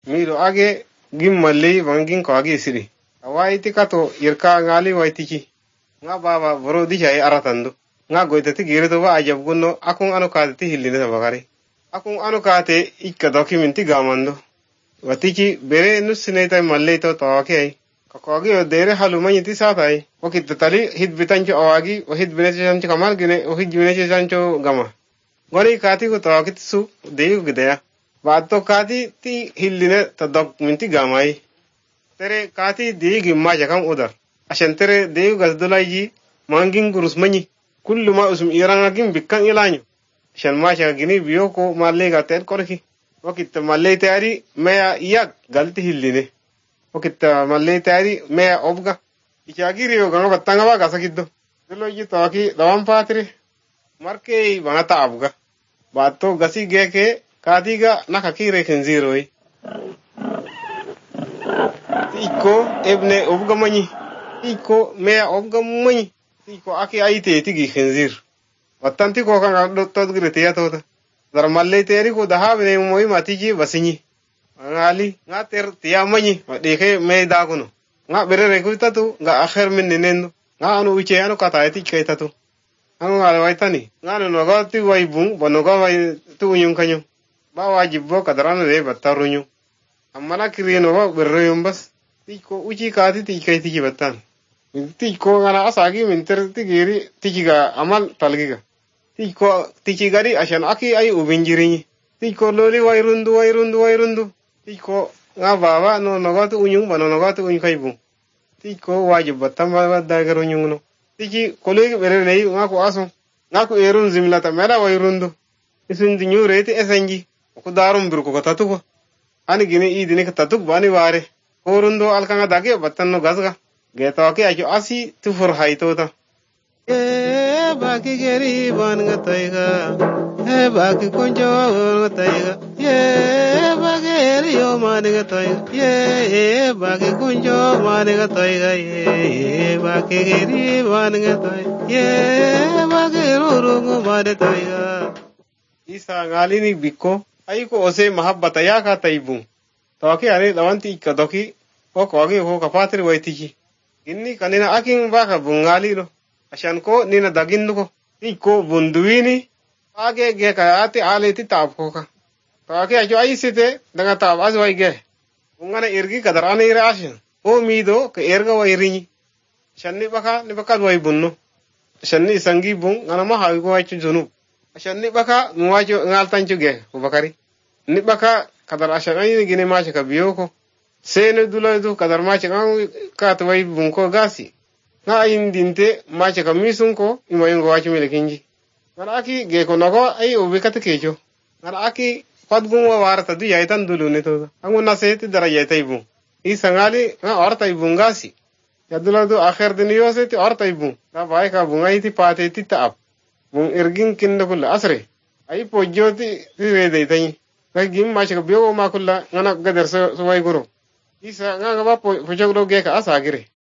miro age gim malli wangin ko age siri awaiti kato irka ngali waitiki nga baba boro di jay aratando nga goitati girito wa ajab gunno akun anu kaati hillina sabagari akun anu kaate ikka document gamando watiki bere nusineta malle to tawake kakogi odere halumani ti satai wakit tali hit bitancho awagi wa hit bineche kamal gine wa hit bineche sancho gama gori kaati ko tawakit su deyu gidaya bato kaati ti hilline ta document gamai tere kaati di gimma jakam udar ashan tere deyu gasdulaiji mangin gurusmani kullu ma usum iranga gim bikkan ilanyo shan ma shaka gini biyo ko malle ga ter korki wakit malle tayari meya yak galti hilline wakit malle tayari meya obga ichagiri yo ganga battanga ba gasakiddo dilo yi tawaki dawam patri marke banata abga bato gasi geke kadiga nakakire kenziroi iko ebne obga mani iko meya obga mani iko aki aite tigi kenzir wattanti ko kan dotto grete ya tota dar malle teri ko daha bene moy matiji basinyi ngali ngater tiya mani de ke me da kuno nga berere ko tatu nga akher min nenendo nga anu uche anu kata eti ke tatu anu ngale waitani ngano no gati waibung bono ga wai tu nyung kanyo ba wajibbo kadarano de batarunyu amana kirino ba berreyum bas tiko uchi kati tikai tiki batan tiko ngana asagi minter tigiri tikiga amal talgiga tiko tikigari ashan aki ay ubinjirini tiko loli wairundu tiko nga baba no nogatu unyung bano nogatu unkaibu tiko wajib batamba badagaru nyungno tiki kolegi berere nga ko aso nga ko erun zimlata mera wairundu isun dinyu reti esenji ko darum bir ko tatuko ani gine idine ka tatuk bani ware korundo alkanga dage battanno gasga geto ke ajo asi tufur haitota baki geri ban ngataiga baki konjo ngataiga baki yo man ngataiga baki konjo man ngataiga baki geri ban ngataiga baki rurungu man ngataiga isa ngalini bikko aiko ose mahabbata ya ka taibu tawaki are dawanti kadoki o kogi ho kapatri waitiki inni kanina akin baka bungali lo ashan ko nina daginnu ko iko bunduini age ge ka ati aleti tab ko ka tawaki ajo aisite daga tab azwai ge ungana irgi kadarane ira ashan o mido ka erga wairini shanni baka wai bunno shanni sangi bun ngana ma hawi ko wachu junu ashan ni baka muwajo ngaltanju ge ko bakari ni baka kadar ashan ay gine ma ka biyo ko sene dulaidu kadar ma ka to wai bun ko gasi nga ayin dinte ma ka misun ko imoyingo wachu melekinji ngana aki ge ko nago ay ubikata kejo ngana aki padgun wa warta du yaitan dulune to angu naseti daraja taibu isangali nga orta ibun gasi yaduladu akhir diniyo seti orta ibun na bai ka bungai ti pate ti taap bung irgin kinda kulla asre ay pojjoti rede tay kay gim ma ka biyo ma kulla ngana gadar so way guru isa nga ba pojog do ge ka asagire